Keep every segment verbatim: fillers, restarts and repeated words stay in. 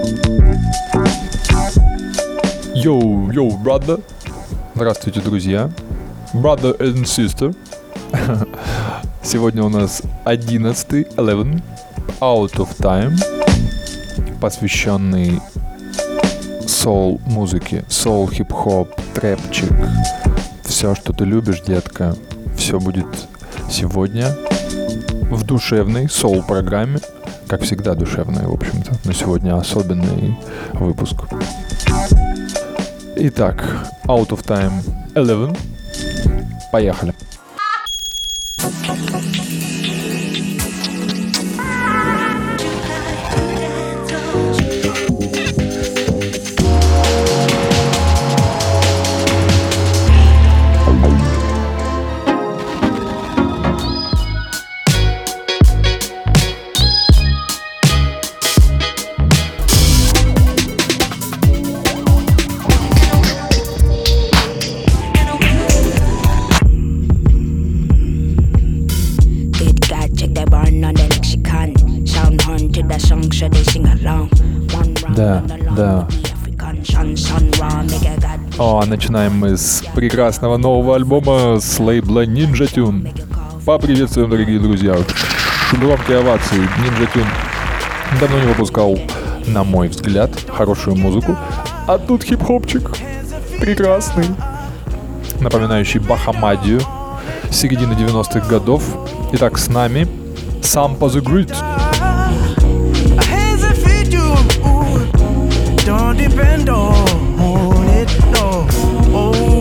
Йоу, йоу, brother. Здравствуйте, друзья. Brother and sister. Сегодня у нас одиннадцатый, eleven, Out of Time, посвященный соул музыке, соул, хип-хоп, трэпчик. Все, что ты любишь, детка, все будет сегодня в душевной соул-программе. Как всегда душевная, в общем-то, но сегодня особенный выпуск. Итак, Out of Time eleven. Поехали. Да, да. О, начинаем мы с прекрасного нового альбома с лейбла Ninja Tune. Поприветствуем, дорогие друзья. Громкие овации. Ninja Tune давно не выпускал, на мой взгляд, хорошую музыку. А тут хип-хопчик прекрасный, напоминающий Бахамадию середины девяностых годов. Итак, с нами Sampa the Great. Don't depend on it, no. Oh.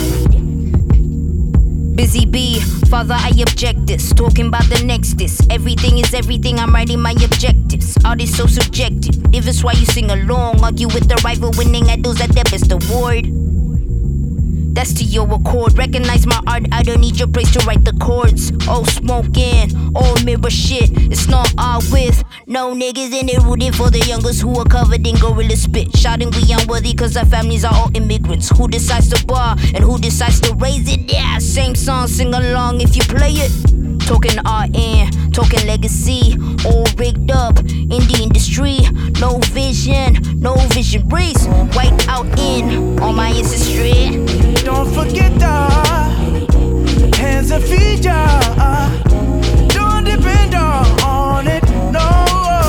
Busy bee, father, I object this. Talking about the next this. Everything is everything, I'm writing my objectives. Art is so subjective. If it's why you sing along, argue with the rival, winning idols at their best award. That's to your accord. Recognize my art, I don't need your praise to write the chords. Oh, smoking, all mirror shit. It's not our with. No niggas in it rooting for the youngest who are covered in gorilla spit. Shouting we unworthy cause our families are all immigrants. Who decides to bar and who decides to raise it? Yeah, same song, sing along if you play it. Talking R N, talking legacy. All rigged up in the industry. No vision, no vision race. White out in all my ancestry. Don't forget the hands and feet, yeah. Don't depend on it, no.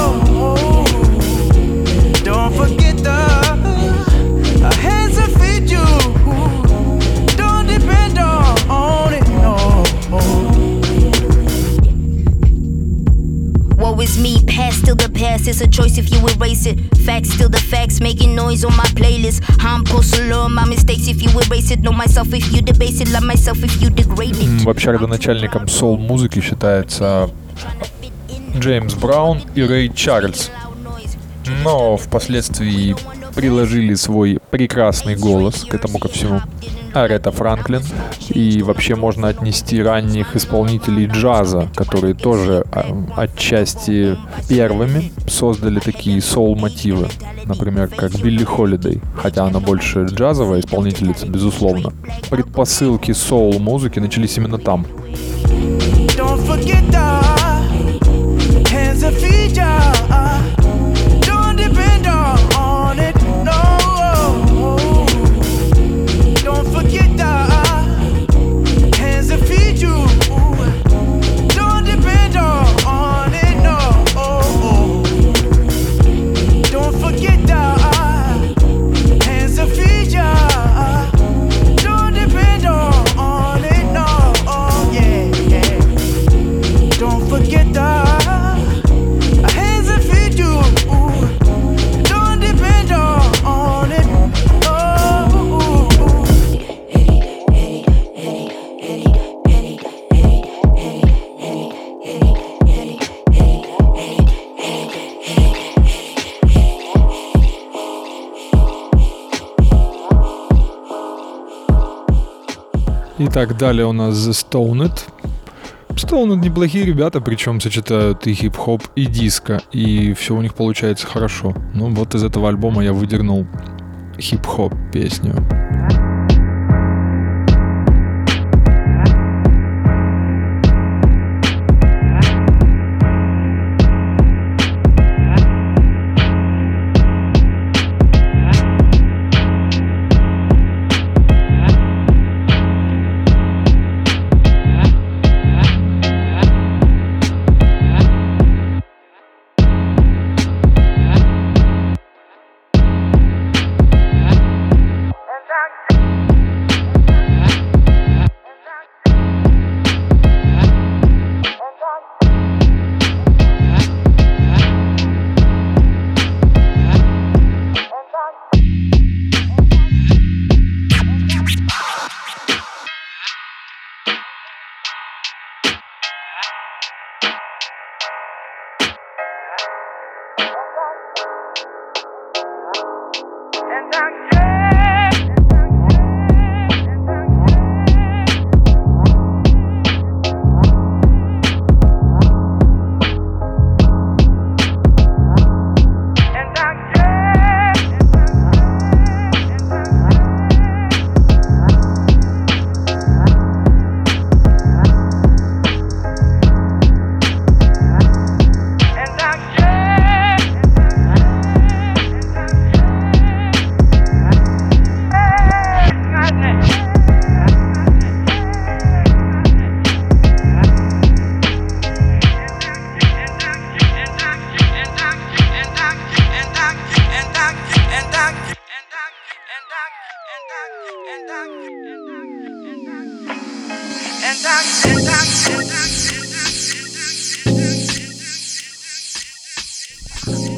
Don't forget the hands and feet, you. Don't depend on it, no. Woe is me, past still the past. It's a choice if you erase it. Facts still the facts, making noise on my playlist. I'm supposed to learn my mistakes if you erase it. Know myself if you debase it. Love myself if you degrade it. Вообще, родоначальником соул-музыки считается Джеймс Браун и Рэй Чарльз. Но впоследствии приложили свой прекрасный голос к этому ко всему Арета Франклин. И вообще можно отнести ранних исполнителей джаза, которые тоже отчасти первыми создали такие соул-мотивы. Например, как Билли Холидей, хотя она больше джазовая исполнительница, безусловно. Предпосылки соул-музыки начались именно там. Don't forget the hands and feet, yeah. Don't depend on it, no. Don't forget the hands and feet, you. Don't depend on it, no. Don't forget the hands and feet, yeah. Don't depend on it, no. Yeah, yeah. Don't forget the hands and feet, you. Don't depend on it. Итак, далее у нас The Stoned. Stoned неплохие ребята, причем сочетают и хип-хоп, и диско, и все у них получается хорошо. Ну вот из этого альбома я выдернул хип-хоп песню.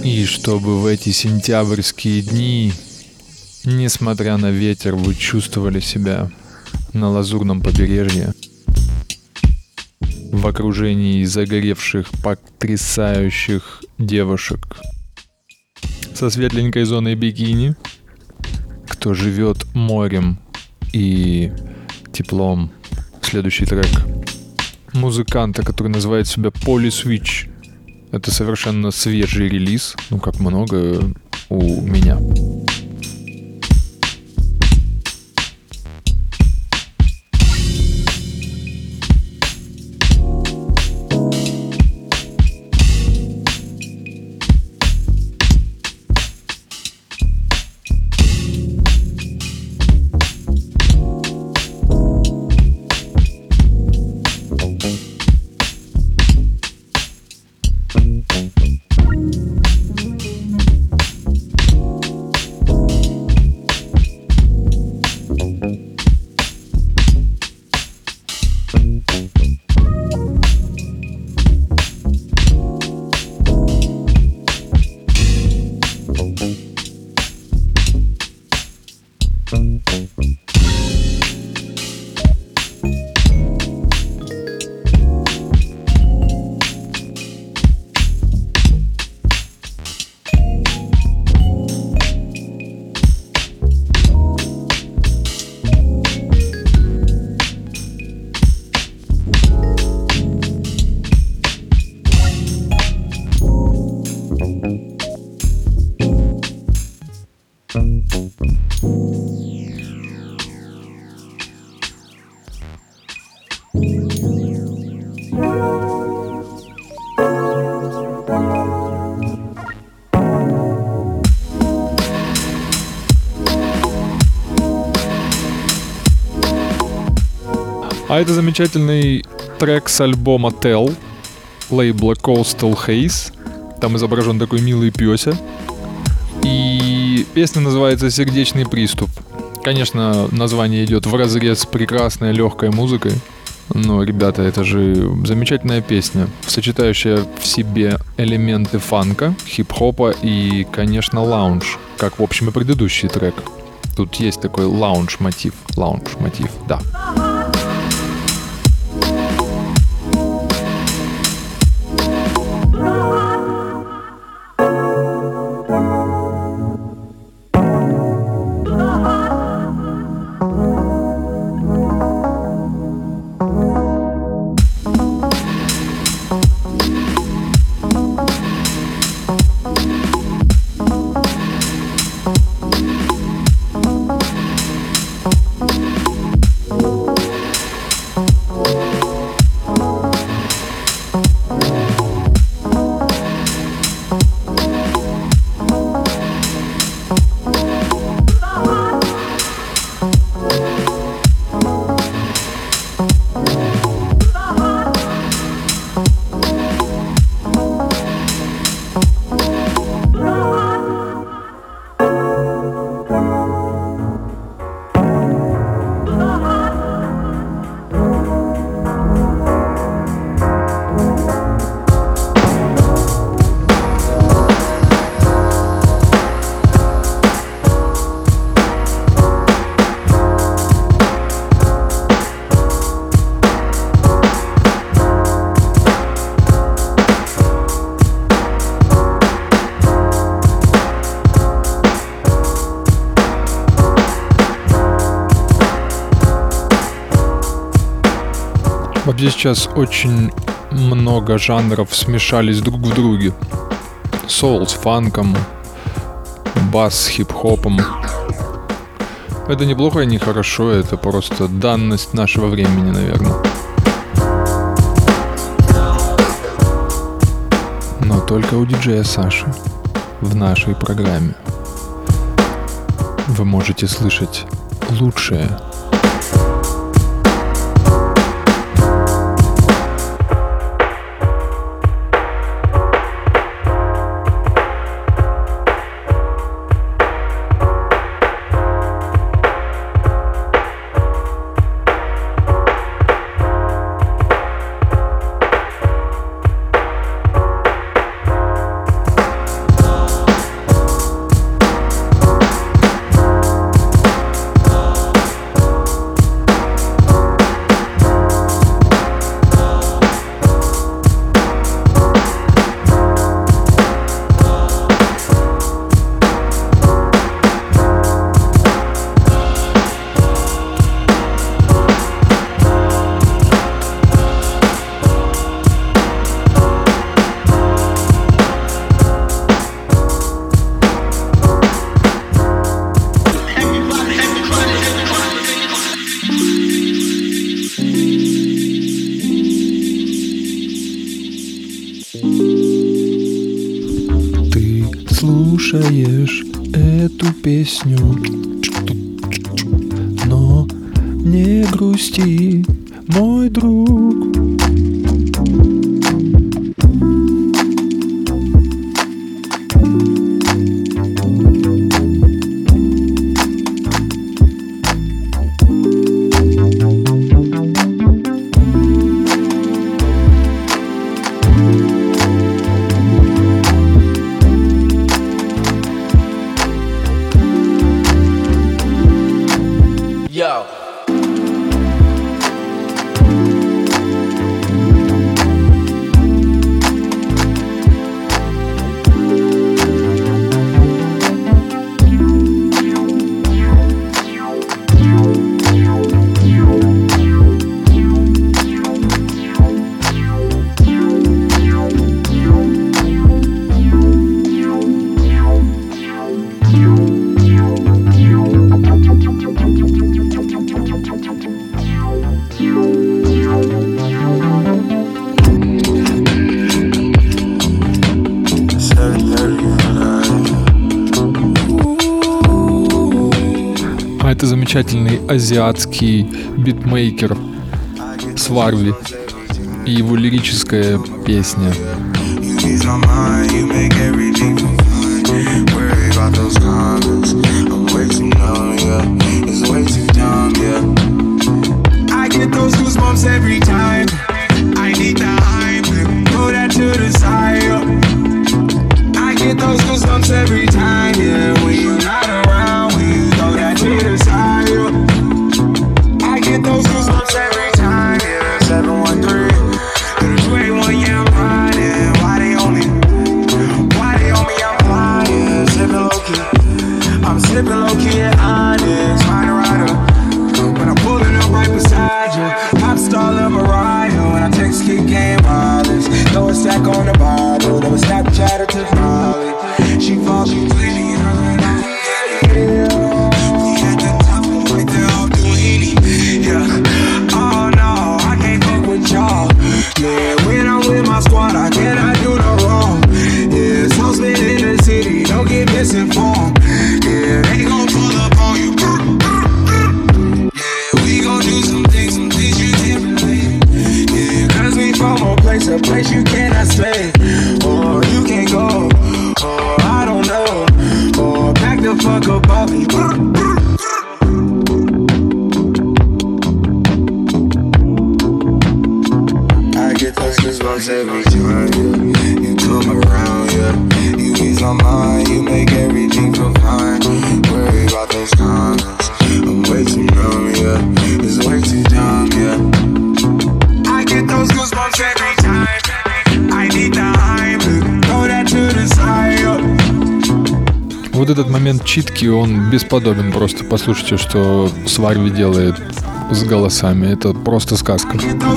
И чтобы в эти сентябрьские дни, несмотря на ветер, вы чувствовали себя на лазурном побережье, в окружении загоревших, потрясающих девушек со светленькой зоной бикини, кто живет морем и теплом. Следующий трек музыканта, который называет себя Poly Switch. Это совершенно свежий релиз, ну как много у меня. А это замечательный трек с альбома Tell, лейбла Coastal Haze. Там изображен такой милый пёся. И песня называется «Сердечный приступ». Конечно, название идет вразрез с прекрасной легкой музыкой. Но, ребята, это же замечательная песня, сочетающая в себе элементы фанка, хип-хопа и, конечно, лаунж, как, в общем, и предыдущий трек. Тут есть такой лаунж-мотив, лаунж-мотив, да. Вообще сейчас очень много жанров смешались друг в друге. Соул с фанком, бас с хип-хопом. Это неплохо и не хорошо, это просто данность нашего времени, наверное. Но только у диджея Саши в нашей программе вы можете слышать лучшее. слушаешь эту песню, но не грусти, мой друг. Yo. А это замечательный азиатский битмейкер Сварви и его лирическая песня. A place you cannot stay, or you can't go, or I don't know, or back the fuck up off me. I get those goosebumps every time, yeah. You come around, yeah. You ease my mind, you make everything feel fine. Worry about those comments, I'm way too numb, yeah. It's way too dumb, yeah. I get those goosebumps every time. Вот этот момент читки, он бесподобен просто. Послушайте, что Сварви делает с голосами. Это просто сказка.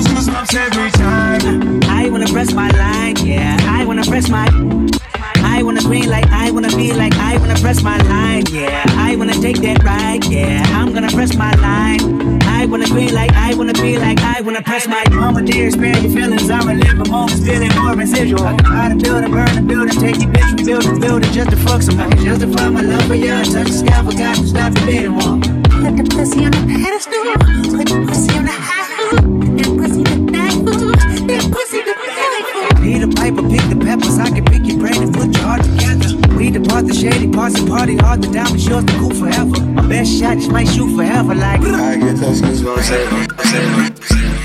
I wanna green like I wanna be like I wanna press my line, yeah. I wanna take that ride, yeah. I'm gonna press my line. I wanna green like I wanna be like I wanna press my mama dear, spare your feelings. I'ma live a moment, feeling more residual. I can buy the building, burn the building, take your bitch, rebuild the building just to fuck somebody. Justify my love for you, touch the sky, forgot to stop the dating wall. Put the pussy on the pedestal, put the pussy on the high foot, that pussy the night food, that pussy the belly food. Peter Piper, pick the peppers, I can pick your brain and put your heart together. We depart the shady parts and party hard, the diamond yours to cool forever. My best shot just might shoot forever like I get those goosebumps every time.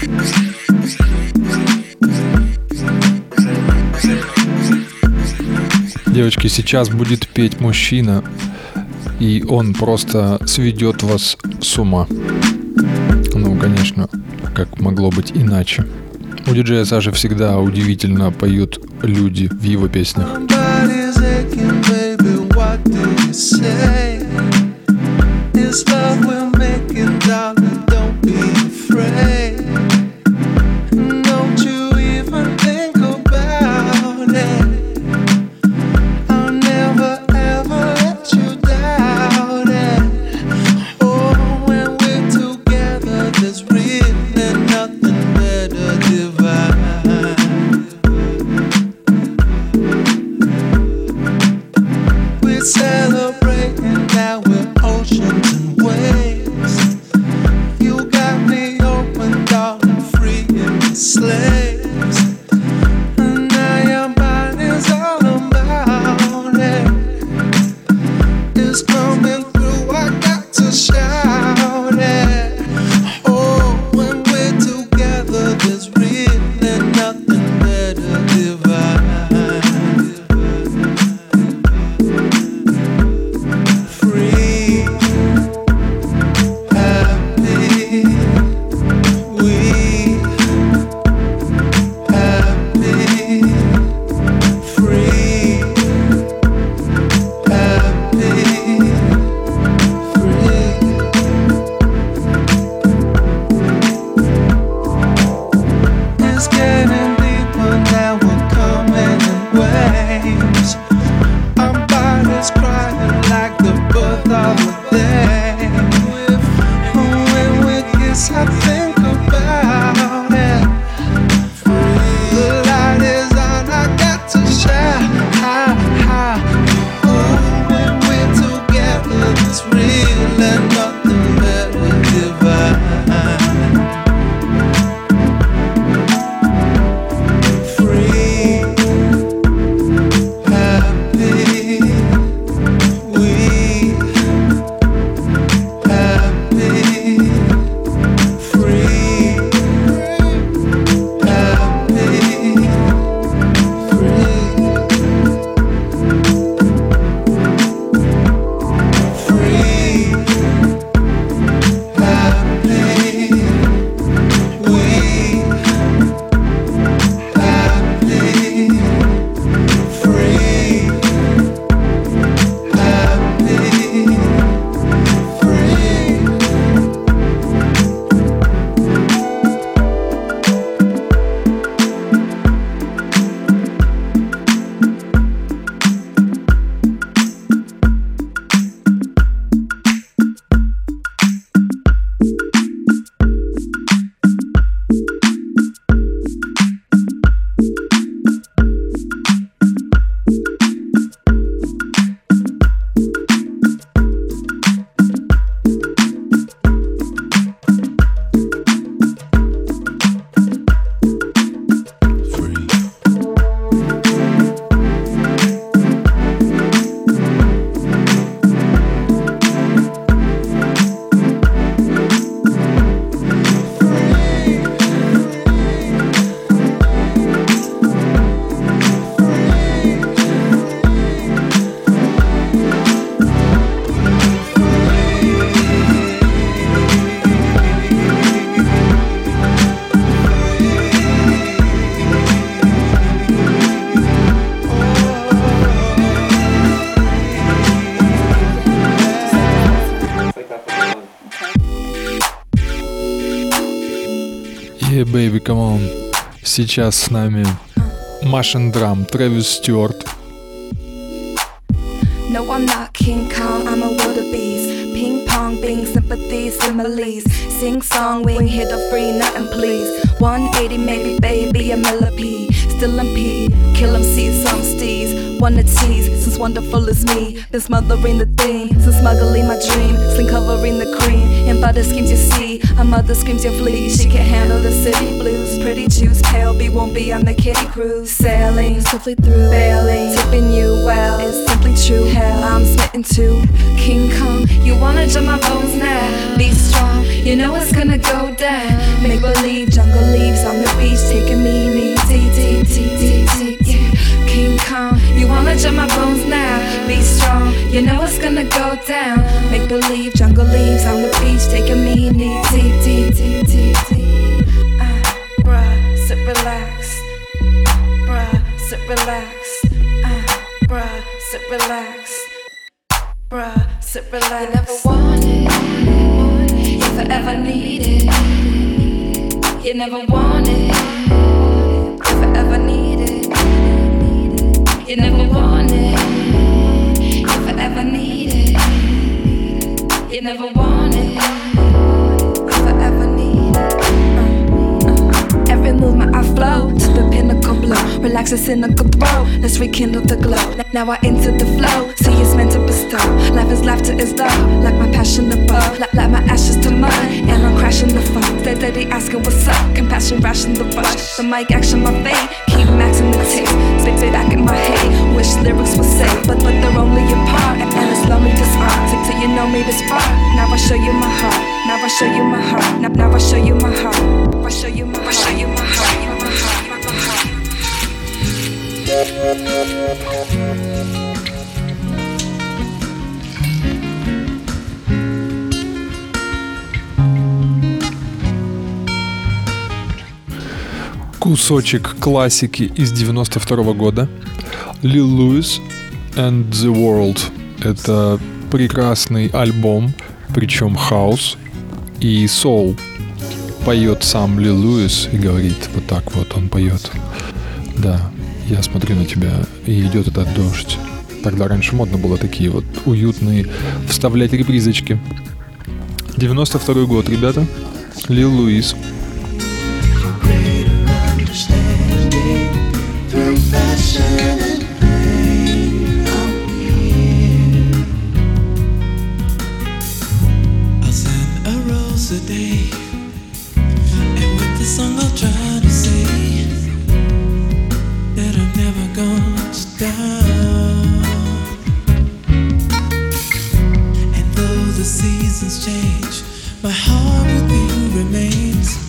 Девочки, сейчас будет петь мужчина, и он просто сведет вас с ума. Ну, конечно, как могло быть иначе. У диджея Саши всегда удивительно поют люди в его песнях. We Сейчас с нами Машин Драм, Трэвис Стюарт. No, I'm not King Kong, I'm a wildebeest. Ping pong, being sympathies, similes. Sing song, we ain't here to free, nothing please. one eighty, maybe, baby, a millipede. Still impede, kill 'em, see some steez. Wanna tease, since wonderful is me. Been smothering the theme, since smuggling my dream. Sling covering the cream, and butter schemes you see. A mother screams you flee, she can't handle the city blues. Pretty juice, pale B won't be on the kitty cruise. Sailing swiftly through, bailing, tipping you well. It's simply true, hell, I'm smitten too. King Kong, you wanna jump my bones now? Be strong, you know it's gonna go down. Make believe, jungle leaves on the beach, taking me, me, T, T, T, T, T, yeah. King Kong, you wanna jump my bones now? Be strong, you know it's gonna go down. Make believe, jungle leaves on the beach, taking me, me, T, T, T, T, T. Uh, bruh, sit, relax. Bruh, sit, relax. Uh, bruh, sit, relax. Bruh, sit, relax. You never wanted, if I ever needed. You never wanted, if I ever needed. You never wanted, if I ever needed. You never wanted, if I ever needed. Uh, uh. Every movement I flow to the pinnacle blow. Relax the cynical throw, let's rekindle the glow. Now I enter the flow, see it's meant to bestow. Life is laughter is love, like my passion the bow. Like, like my ashes to mud, and I'm crashing the phone. Steady, steady asking what's up, compassion ration the rush. The mic action my fate, keep maxing the tape. Spit it back in my head, wish lyrics would say, but but they're only a part, and it's lonely disarm. Till, till you know me this far, now I show you my heart. Now I show you my heart. Now, now I show you my heart. I show you my heart. I show you my heart. My heart. My heart. Кусочек классики из девяносто второго года. Lil Louis and the World. Это прекрасный альбом, причем хаус и соул. Поет сам Lil Louis и говорит вот так вот, он поет. Да, я смотрю на тебя, и идет этот дождь. Тогда раньше модно было такие вот уютные вставлять репризочки. девяносто второй год, ребята. Lil Louis. A day, and with this song I'll try to say that I'm never gonna stop. And though the seasons change, my heart with you remains.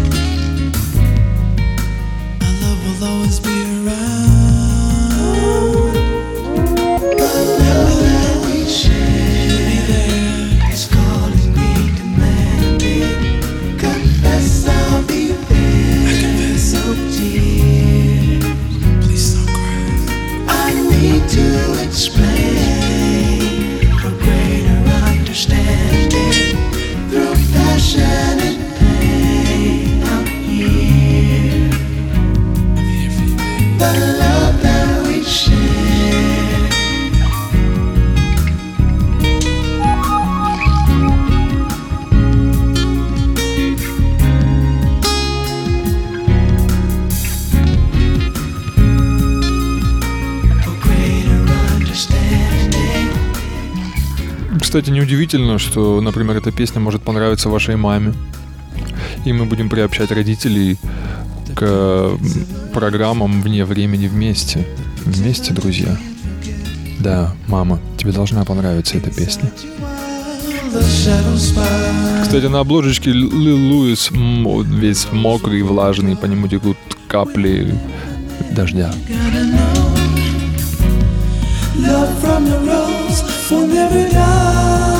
Our love will always be around. The love that we share be there. It's calling me to confess I'll be there. I confess, oh dear. Please don't cry. I need to explain for greater understanding. Through passion and pain, I'm here. I'm here for you, baby. The love that we share. Кстати, неудивительно, что, например, эта песня может понравиться вашей маме. И мы будем приобщать родителей к программам вне времени вместе. Вместе, друзья. Да, мама, тебе должна понравиться эта песня. Кстати, на обложечке Lil Louis весь мокрый, влажный, по нему текут капли дождя. Love from the rose will never die.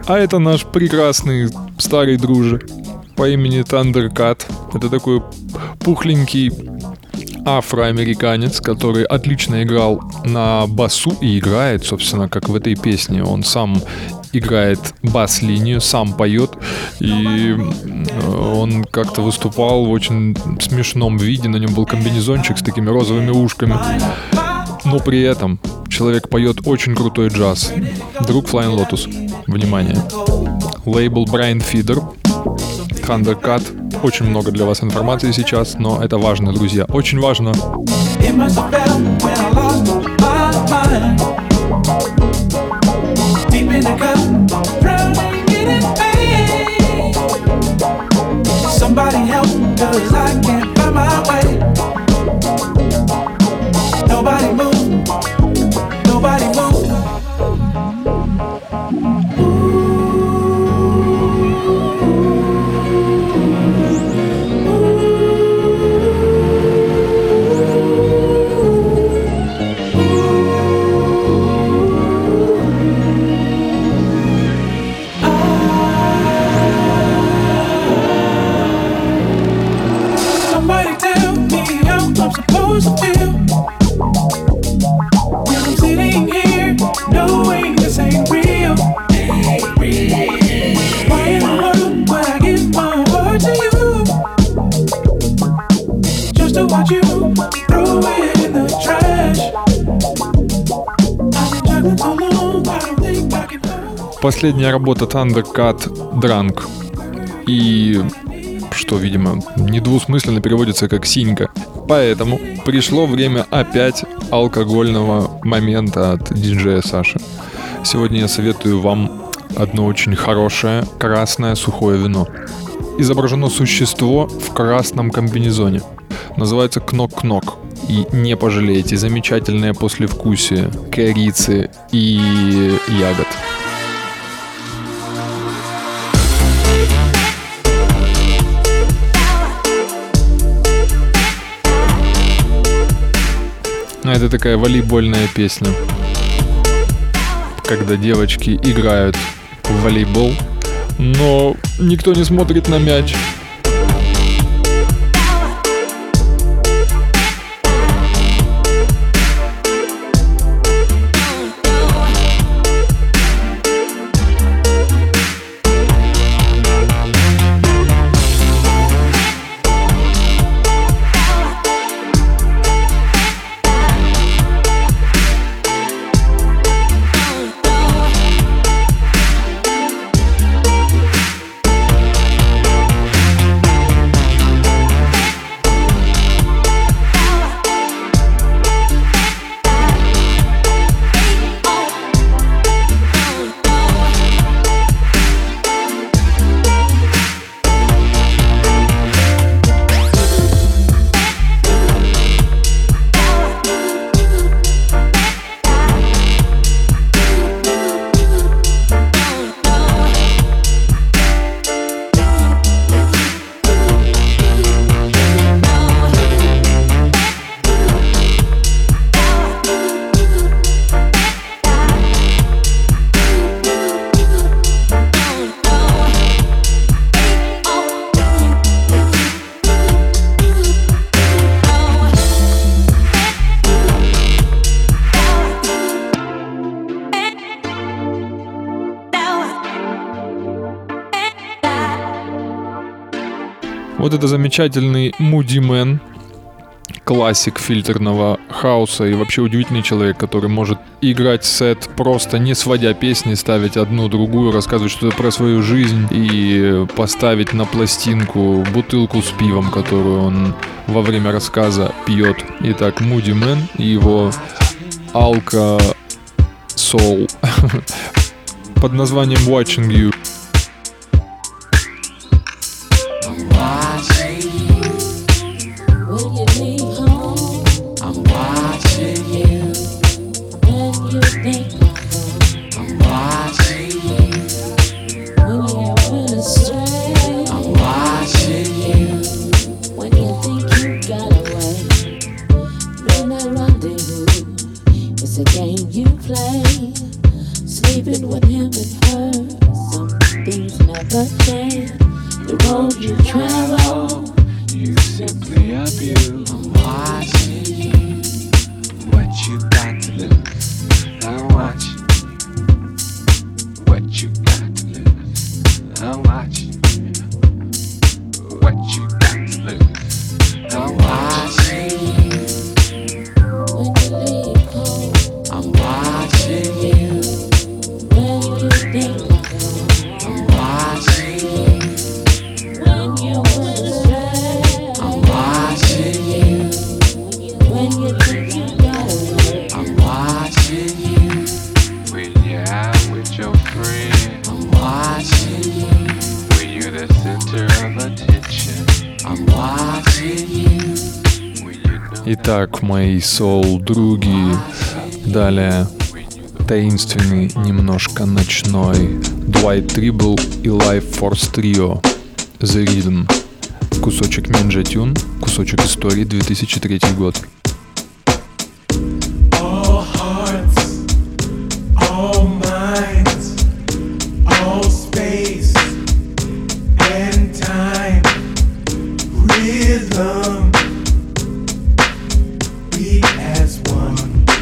А это наш прекрасный старый друже по имени Thundercat. Это такой пухленький афроамериканец, который отлично играл на басу и играет, собственно, как в этой песне. Он сам играет бас-линию, сам поет, и он как-то выступал в очень смешном виде. На нем был комбинезончик с такими розовыми ушками. Но при этом человек поет очень крутой джаз. Друг Flying Lotus. Внимание. Лейбл Brain Feeder. Thundercat. Очень много для вас информации сейчас, но это важно, друзья. Очень важно. Somebody help, 'cause I can't find my way. Nobody move, nobody move. Последняя работа Thundercat Drunk. И что, видимо, недвусмысленно переводится как «синька». Поэтому пришло время опять алкогольного момента от диджея Саши. Сегодня я советую вам одно очень хорошее красное сухое вино. Изображено существо в красном комбинезоне. Называется Кнок-Кнок. И не пожалеете, замечательное послевкусие корицы и ягод. Это такая волейбольная песня, когда девочки играют в волейбол, но никто не смотрит на мяч. Вот это замечательный Moody Man, классик фильтрного хауса и вообще удивительный человек, который может играть сет просто не сводя песни, ставить одну другую, рассказывать что-то про свою жизнь и поставить на пластинку бутылку с пивом, которую он во время рассказа пьет. Итак, Moody Man и его Alka Soul под названием Watching You. It's a game you play, sleeping with him and her. road you travel, you simply abuse. I'm watching you, what you got to lose. I'm watching what you got to lose. I'm watching what you got to lose. I'm watching you when you leave home. I'm watching you when you think. I'm watching you when you wanna. I'm watching you when you think you got it. I'm watching you when you're out with your friends. I'm watching you when you're the center of attention. I'm watching you when you know. Итак, мои соул-други, далее таинственный, немножко ночной Dwight Tribble и Life Force Trio The Rhythm. Кусочек Ninja Tune, кусочек истории, две тысячи третий год. All hearts, all minds, all space and time, rhythm, beat as one.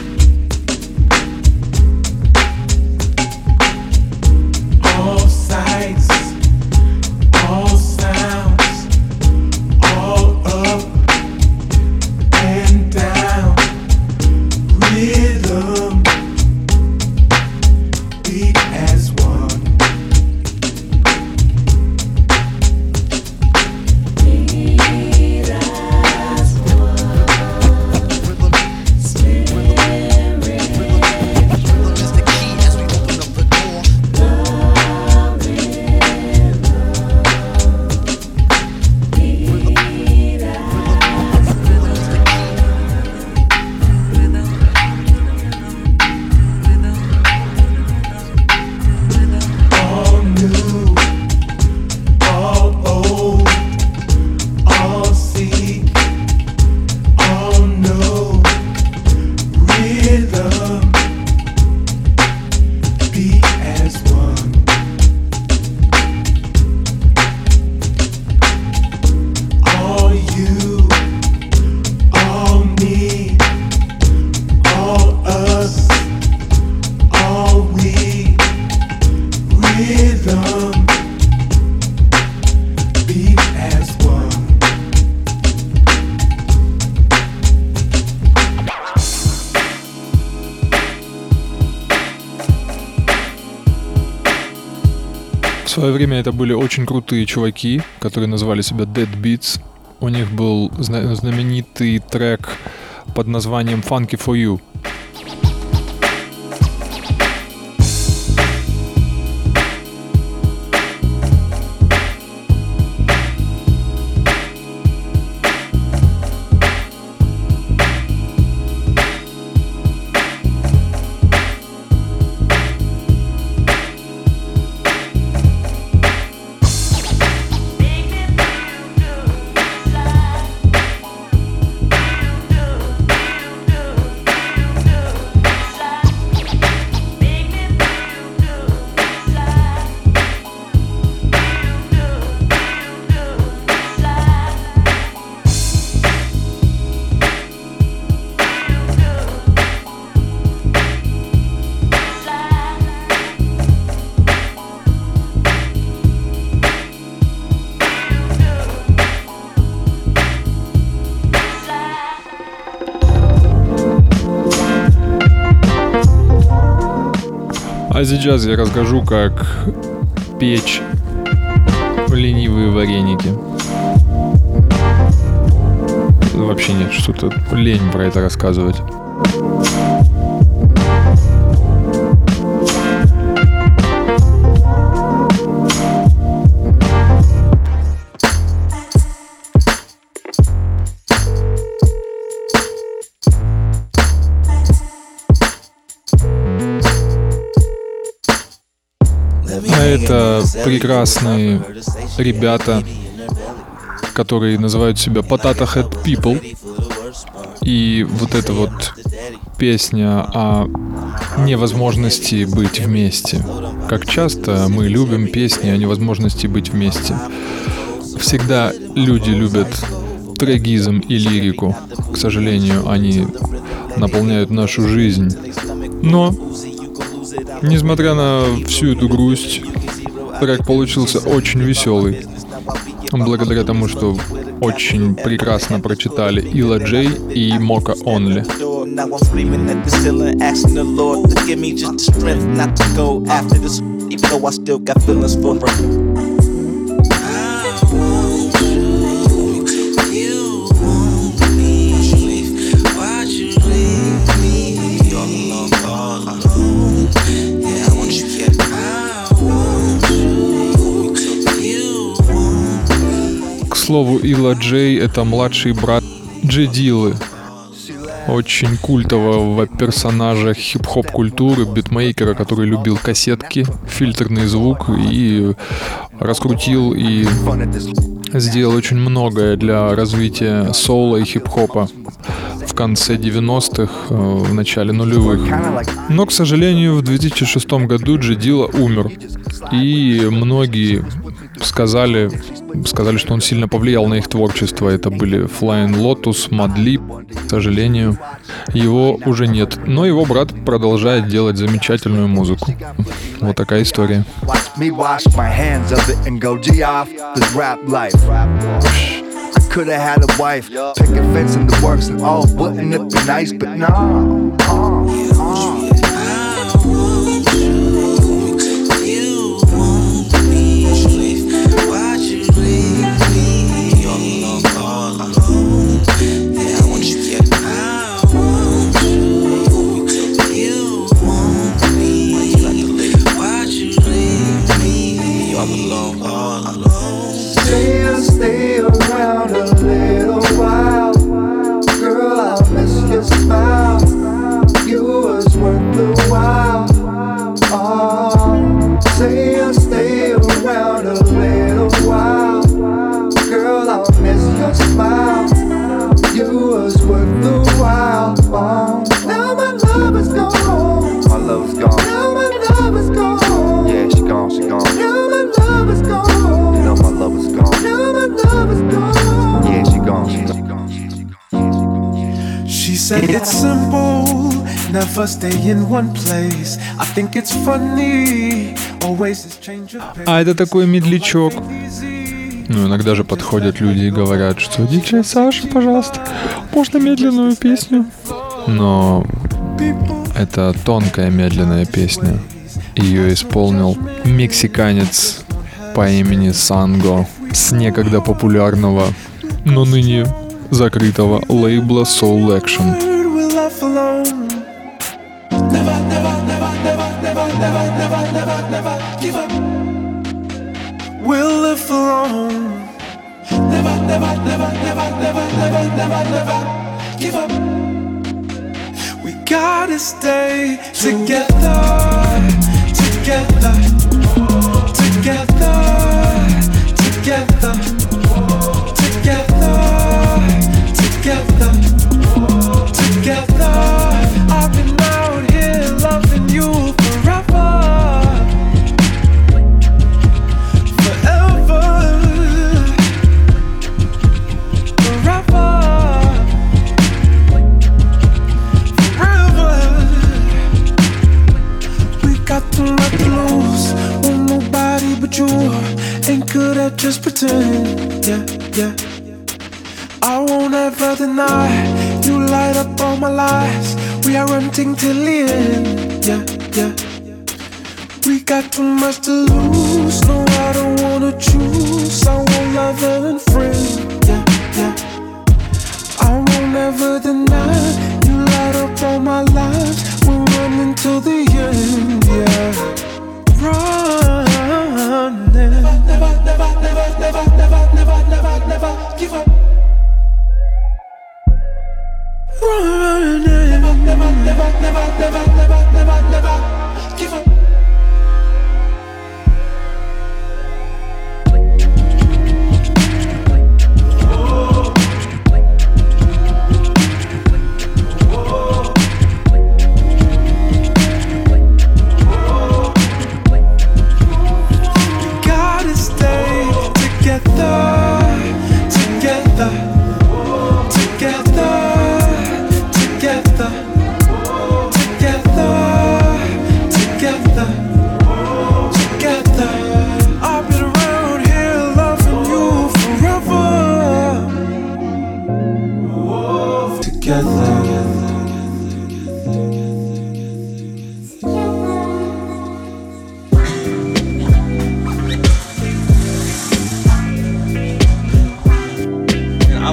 All sights, all sounds, all up and down, rhythm, beat as one. Beat as one. Spirit. Rhythm is the key as we open up the door. All new, all old, all see, all know, rhythm, beat as one. All you, all me, all us, all we, rhythm, beat as one. В свое время это были очень крутые чуваки, которые называли себя Dead Beats. У них был зна- знаменитый трек под названием Funky for You. А сейчас я расскажу, как печь ленивые вареники. Вообще нет, что-то лень про это рассказывать. А это прекрасные ребята, которые называют себя Potato Head People. И вот эта вот песня о невозможности быть вместе. Как часто мы любим песни о невозможности быть вместе. Всегда люди любят трагизм и лирику. К сожалению, они наполняют нашу жизнь. Но, несмотря на всю эту грусть, трек получился очень веселый. Благодаря тому, что очень прекрасно прочитали Illa J и Mocha Only. Now I'm screaming at the ceiling, asking the Lord to give me just the strength not to go after this, even though I still got feelings for her. К слову, Illa J — это младший брат J Dilla, очень культового персонажа хип-хоп культуры, битмейкера, который любил кассетки, фильтрный звук и раскрутил и сделал очень многое для развития соула и хип-хопа в конце девяностых, в начале нулевых. Но, к сожалению, в две тысячи шестом году J Dilla умер, и многие сказали, сказали, что он сильно повлиял на их творчество. Это были Flying Lotus, Madlib. К сожалению, его уже нет. Но его брат продолжает делать замечательную музыку. Вот такая история. Coulda had a wife, picket fence in the works and all, wouldn't it be nice? But no, uh, uh. Stay, stay around a little while. Girl, I miss your smile. You was worth the while. Oh, say, stay around a little while. Girl, I miss your smile. You was worth the while. Oh, now my love is gone. My love is gone. Now my love is gone. Yeah, she gone, she gone. Now my love is gone. You know my love is gone. Now my love is gone. Yeah, she gone, she gone. She said it's simple, never stay in one place. I think it's funny, always this change of pace. А это такой медлячок. Ну, иногда же подходят люди и говорят, что «Диджей Саша, пожалуйста, можно медленную песню?» Но это тонкая медленная песня. Ее исполнил мексиканец по имени Санго с некогда популярного, но ныне закрытого лейбла Soul Action. We'll live alone. Never, never, never, never, never, never, never, never give up. We gotta stay together, together, together, together, together, together, together. I've been out here loving you forever. You ain't good at just pretend, yeah, yeah. I won't ever deny you light up all my lives. We are running till the end, yeah, yeah. We got too much to lose. No, I don't wanna choose. I want lover and friend, yeah, yeah. I won't ever deny you light up all my lives. We're running till the end, yeah. Run. Never, never, never, never, never, never, never, never, never give up. Run. Never, never, never, never, never, never, never, never give up. Together.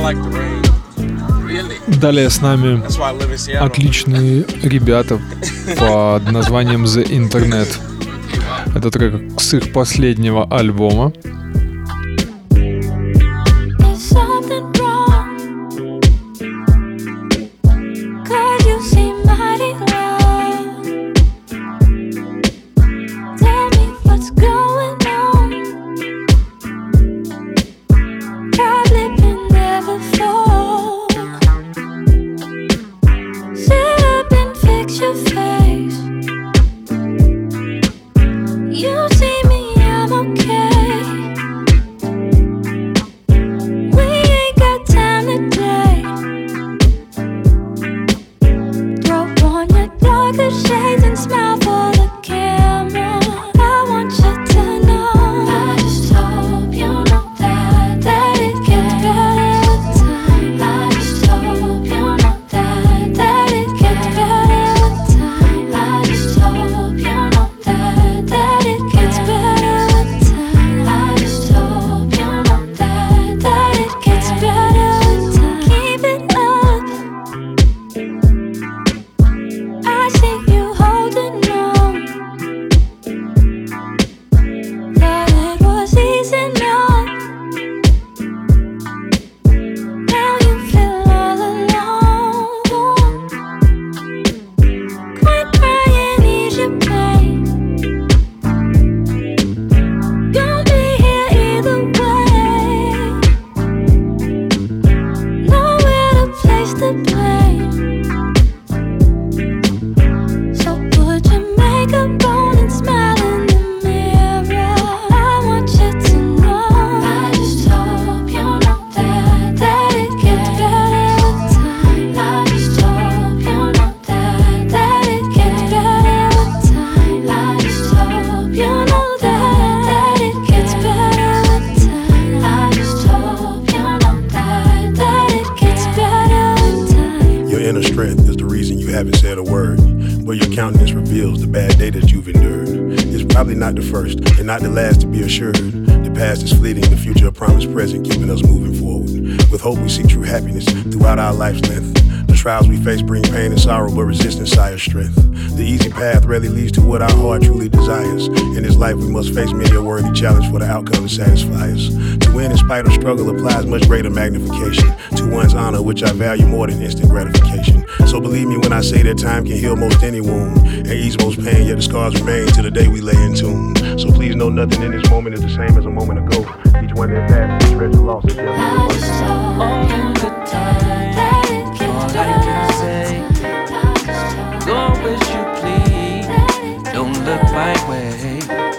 Далее с нами отличные ребята под названием The Internet. Это трек с их последнего альбома. Not the first and not the last to be assured. The past is fleeting, the future a promise present, keeping us moving forward. With hope we seek true happiness throughout our life's length. The trials we face bring pain and sorrow, but resistance sires strength. The easy path rarely leads to what our heart truly desires. In this life we must face many a worthy challenge for the outcome to satisfy us. To win in spite of struggle applies much greater magnification to one's honor, which I value more than instant gratification. So believe me when I say that time can heal most any wound and ease most pain, yet the scars remain to the day we lay in tune. So please know nothing in this moment is the same as a moment ago. Each one that passed is treasure lost as yet. All the time, all I can say, go as you please, don't look my way.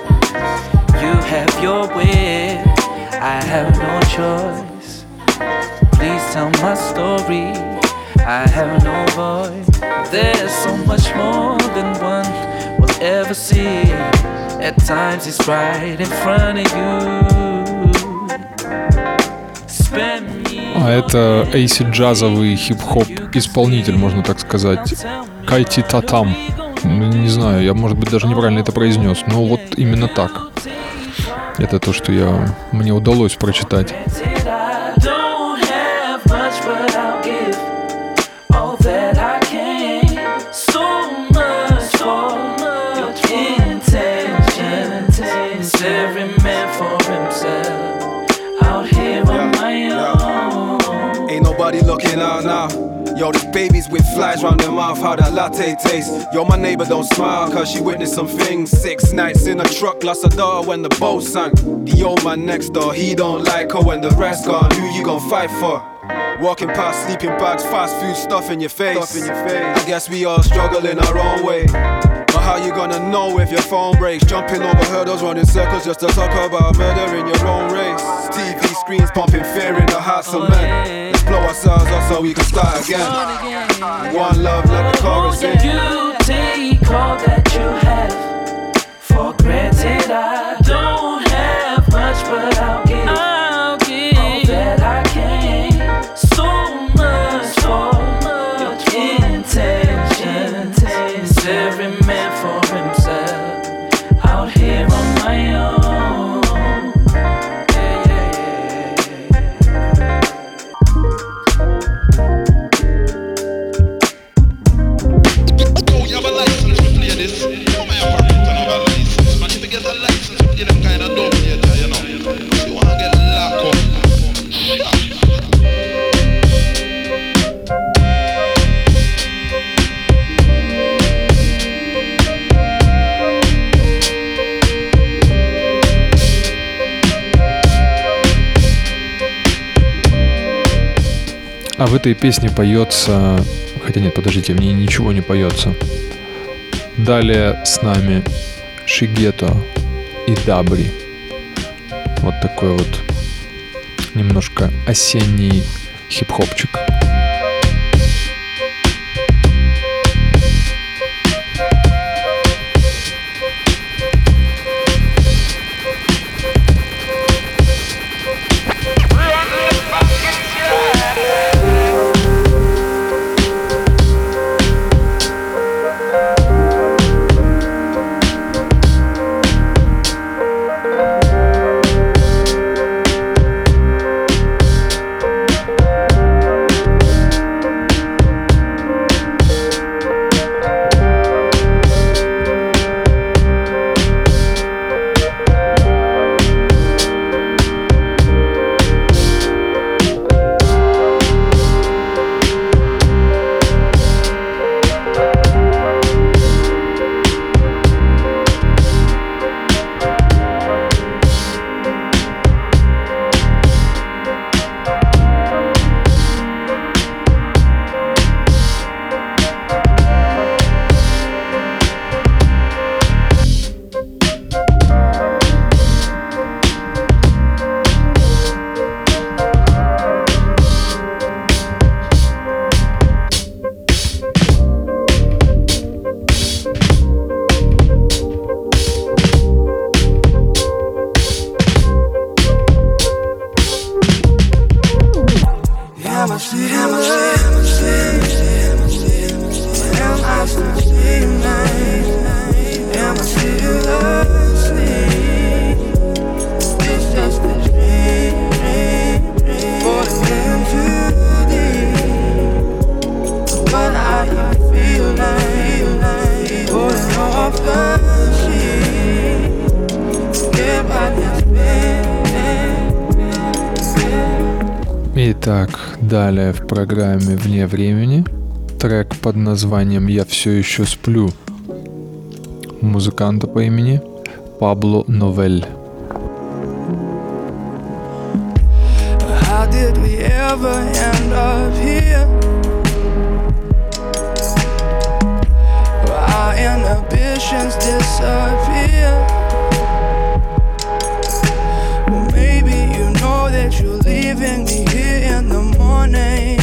You have your way, I have no choice. Please tell my story, I have no voice. There's so much more than one will ever see. At times it's right in front of you. Spend me. А это эйсид-джазовый хип-хоп исполнитель, можно так сказать. Кайти Татам. Не знаю, я, может быть, даже неправильно это произнес, но вот именно так. Это то, что я, мне удалось прочитать. Every man for himself, out here on my own. Ain't nobody looking out now. Yo, this baby's with flies round their mouth, how that latte tastes. Yo, my neighbor don't smile, cause she witnessed some things. Six nights in a truck, lost her daughter when the boat sank. The old man next door, he don't like her when the rest gone. Who you gon' fight for? Walking past sleeping bags, fast food stuff in your face. Stuff in your face. I guess we all struggle in our own way. But how you gonna know if your phone breaks? Jumping over hurdles, running circles just to talk about murder in your own race. T V screens pumping fear in the hearts of men. Let's blow ourselves up so we can start again. One love, let the chorus in. You take all that you have for granted. I don't have much, but I'll give, I'll give all that I can. So much for your intentions. It's every man for himself, out here on my own. Yeah, yeah, yeah, yeah. А в этой песне поется... Хотя нет, подождите, в ней ничего не поется. Далее с нами Шигето и Дабри. Вот такой вот немножко осенний хип-хопчик. Итак, далее в программе «Вне времени» трек под названием «Я все еще сплю» музыканта по имени Пабло Новель. How did we ever end up here? Our inhibitions disappear. Well, maybe you know that you're leaving me here in the morning.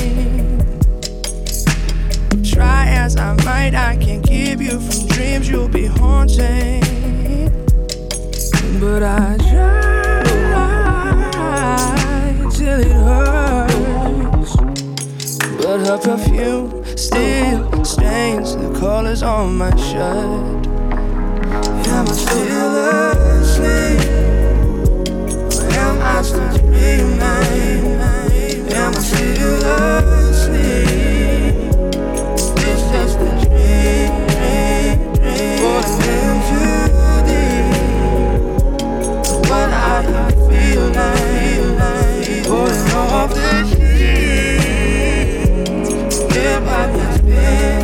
Try as I might, I can't keep you from dreams you'll be haunting. But I try till it hurts. But her perfume still stains the colors on my shirt. Am I still asleep? Or am I still dreaming? Am I still asleep? It's just a dream, dream, dream. Falling in too deep. What I feel like, pulling off the sheets. Get by this bed.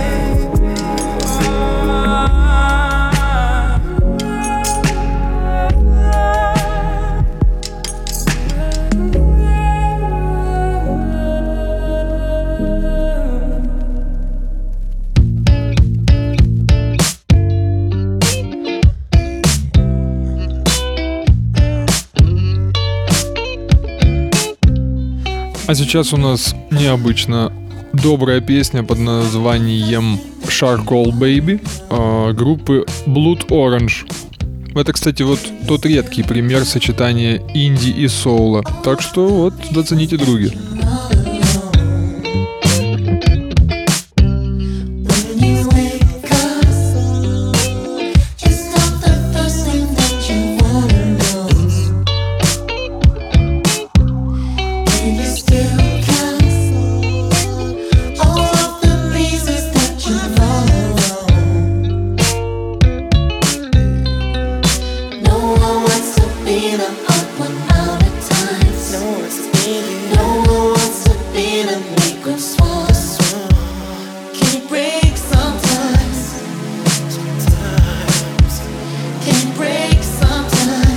А сейчас у нас необычно добрая песня под названием Charcoal Baby э, группы Blood Orange. Это, кстати, вот тот редкий пример сочетания инди и соула. Так что вот, зацените, други.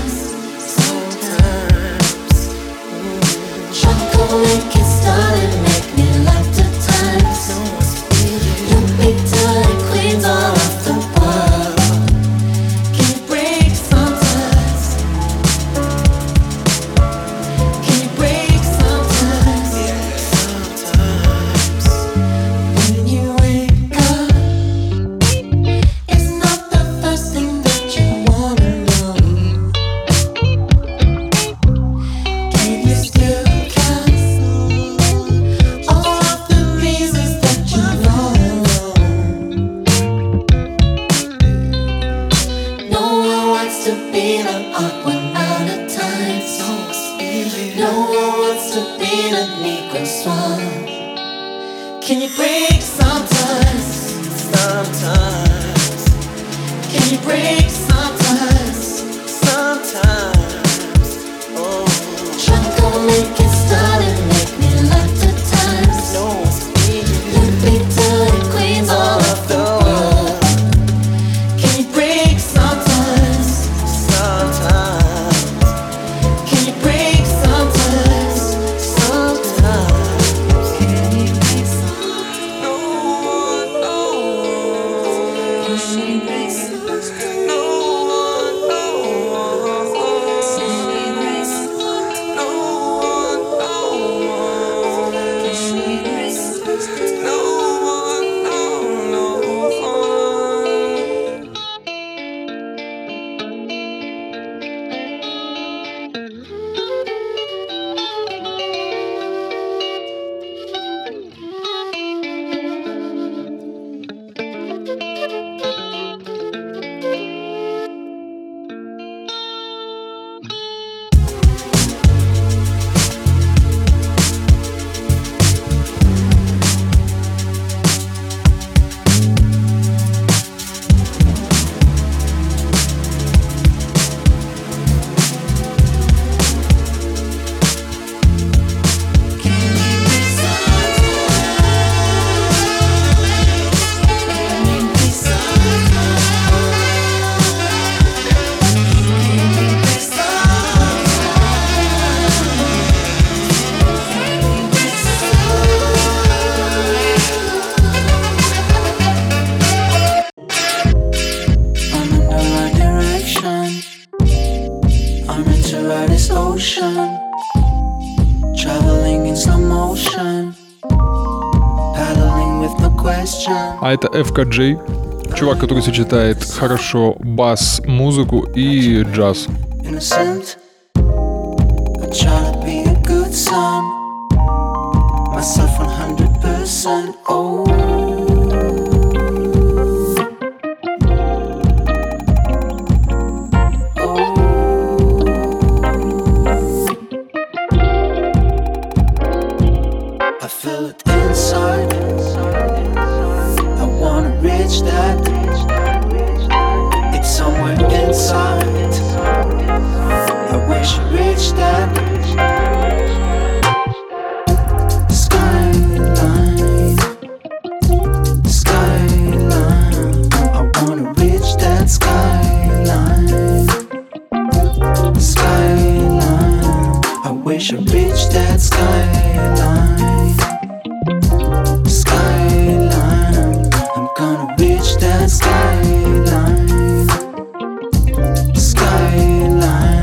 Chocolate can start and make been a Negro swan. Can you break sometimes? Sometimes. Can you break sometimes? Sometimes. Oh. Tryna go make it start and make me like the times. No, let me to the queens all of the world. Can you break sometimes? Sometimes. Can you break sometimes? Sometimes. Can you break sometimes? No one, no one. Can you break sometimes? No one, no one. Can you break sometimes? No one, no one. Can you break sometimes? No one, no, no one. I'm in the right direction. I'm into ride this ocean. Traveling in slow motion. Paddling with no question. А это эф ка джей, чувак, который сочетает хорошо бас, музыку и джаз. Innocent. I try to be a good son. Myself one hundred percent. Oh. I feel it inside. I wanna reach that. It's somewhere inside. I wish I reached that. Skyline, skyline. I wanna reach that skyline. Skyline. I wish I reached that skyline. Skyline. I'm gonna reach that skyline. Skyline.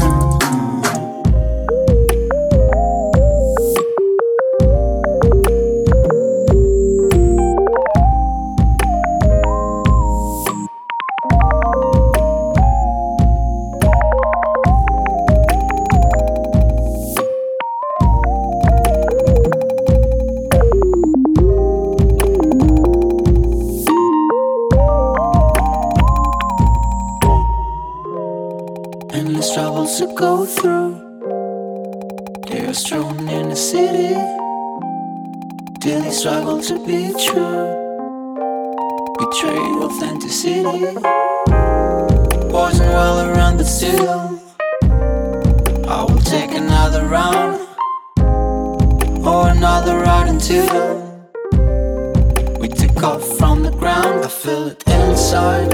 Endless troubles to go through. They are strewn in the city. Daily struggle to be true. Betray authenticity. Poison well around, but still I will take another round or another ride until we take off from the ground. I feel it inside.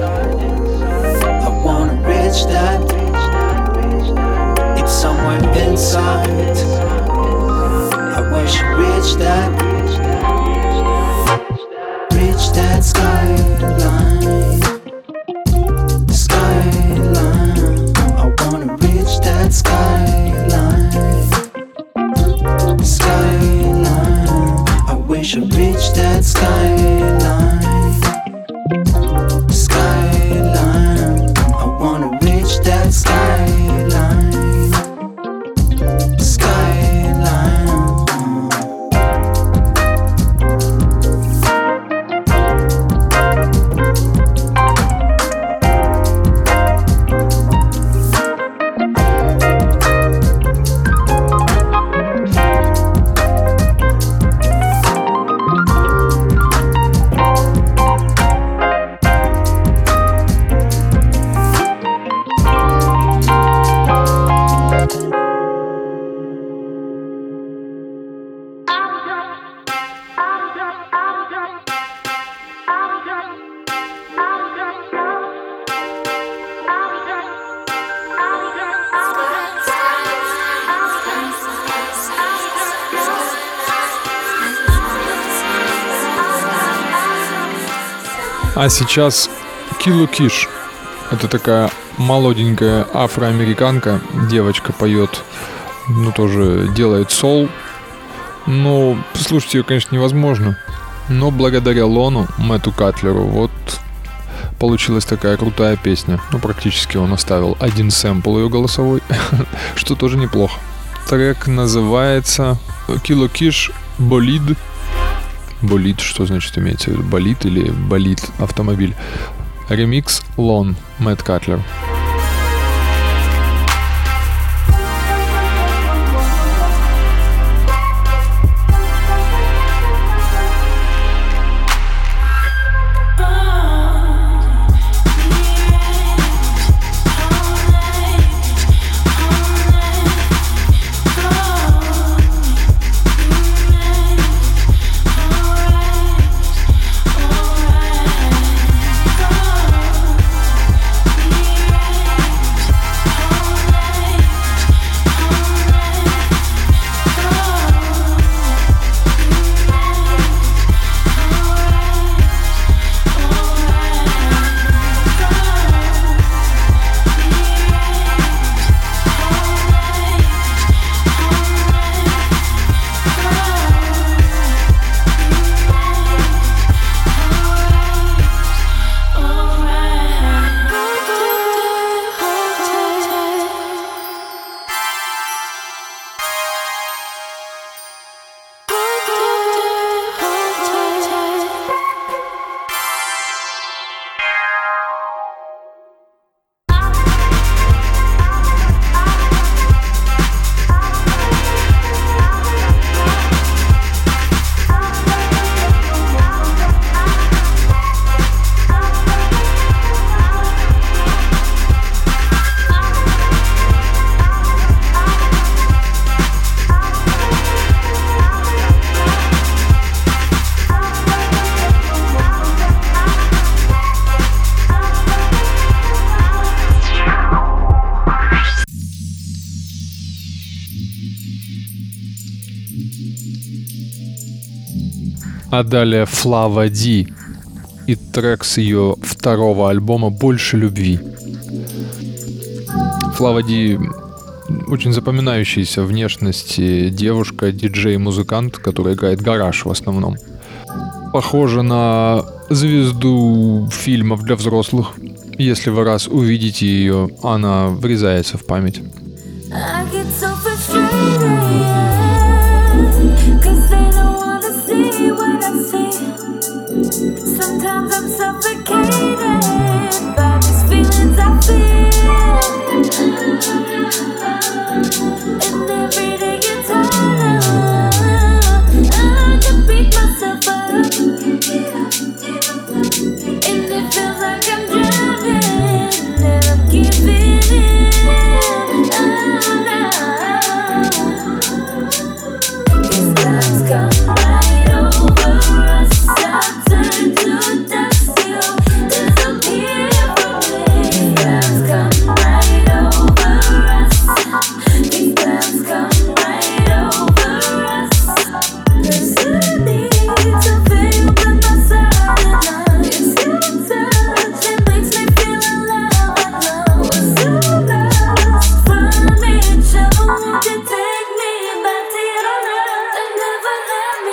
I wanna reach that. It's somewhere inside. I wish I reached that. Reach that skyline. Skyline. I wanna reach that skyline. Skyline. I wish I reached that skyline. Skyline. I wanna reach that skyline. Skyline. А сейчас Kilo Kish. Это такая молоденькая афроамериканка. Девочка поет, ну тоже делает сол. Ну, слушать ее, конечно, невозможно. Но благодаря Лону, Мэтту Катлеру, вот получилась такая крутая песня. Ну, практически он оставил один сэмпл ее голосовой, что тоже неплохо. Трек называется Kilo Kish Bolid. Болид, что значит имеется в виду? Болид или болид автомобиль? Ремикс Лон, Мэтт Катлер. А далее Флава Ди и трек с ее второго альбома «Больше любви». Флава Ди очень запоминающаяся внешности девушка, диджей-музыкант, которая играет гараж в основном. Похожа на звезду фильмов для взрослых. Если вы раз увидите ее, она врезается в память. Sometimes I'm suffocated by these feelings I feel, and every day gets harder. I can beat myself up, and it feels like I'm drowning, and I'm giving in. Oh no, these clouds come right over us. I turn to dust, you disappear from me. These clouds come right over us. These clouds come right over us. 'Cause you need to feel by my side, and I, it's your touch that makes me feel alive. I know we're so lost from each other. Won't you take me back to your love and never let me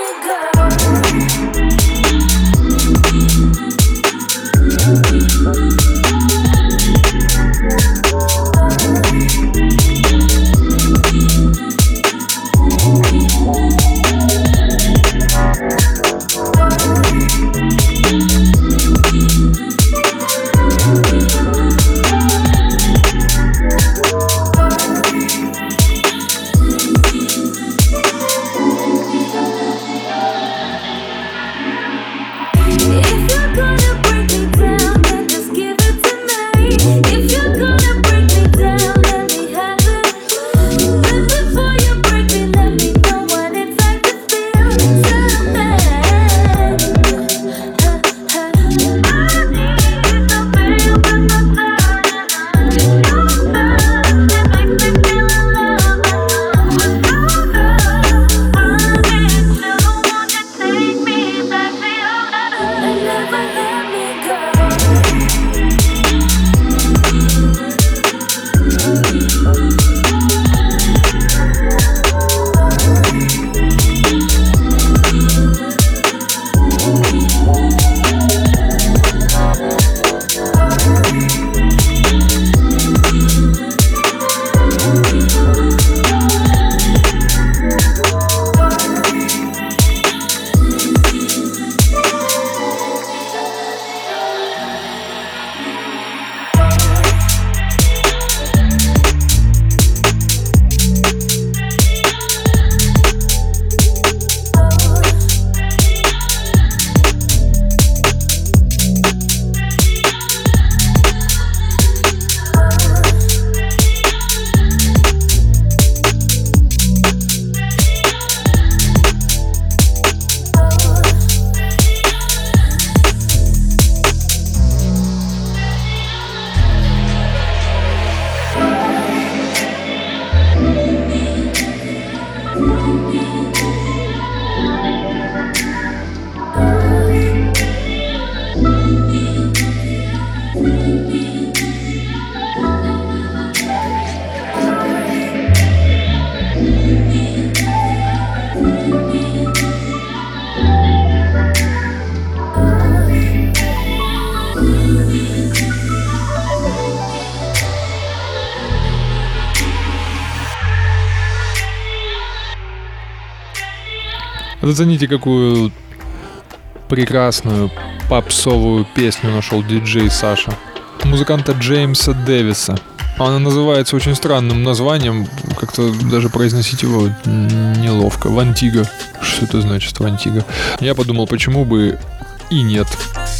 Зацените, какую прекрасную попсовую песню нашел диджей Саша. Музыканта Джеймса Дэвиса. Она называется очень странным названием, как-то даже произносить его неловко. Вантиго. Что это значит, Вантиго? Я подумал, почему бы и нет.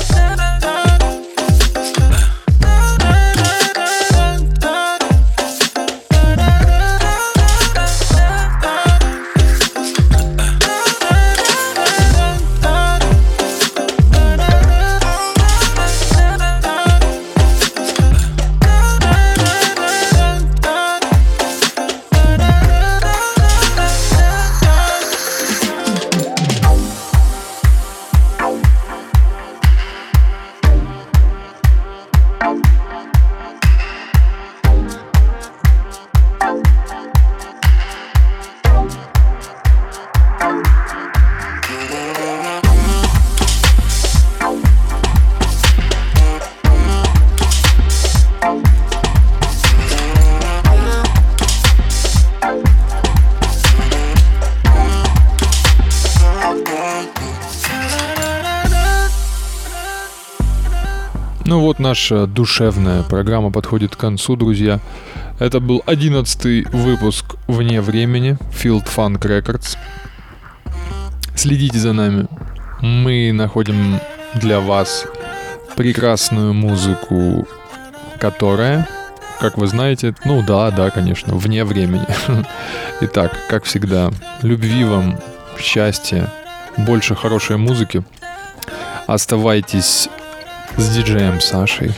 Ну вот, наша душевная программа подходит к концу, друзья. Это был одиннадцатый выпуск «Вне времени» Field Funk Records. Следите за нами. Мы находим для вас прекрасную музыку, которая, как вы знаете, ну да, да, конечно, вне времени. Итак, как всегда, любви вам, счастья, больше хорошей музыки. Оставайтесь с диджеем Сашей.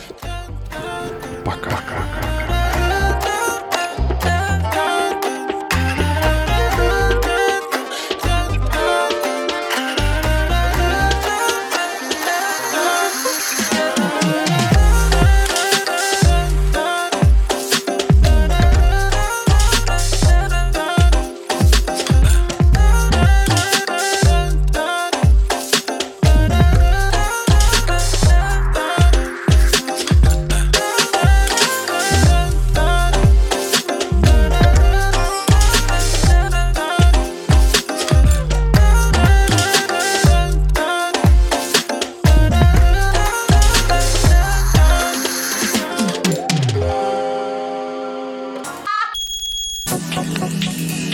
Пока. Thank you.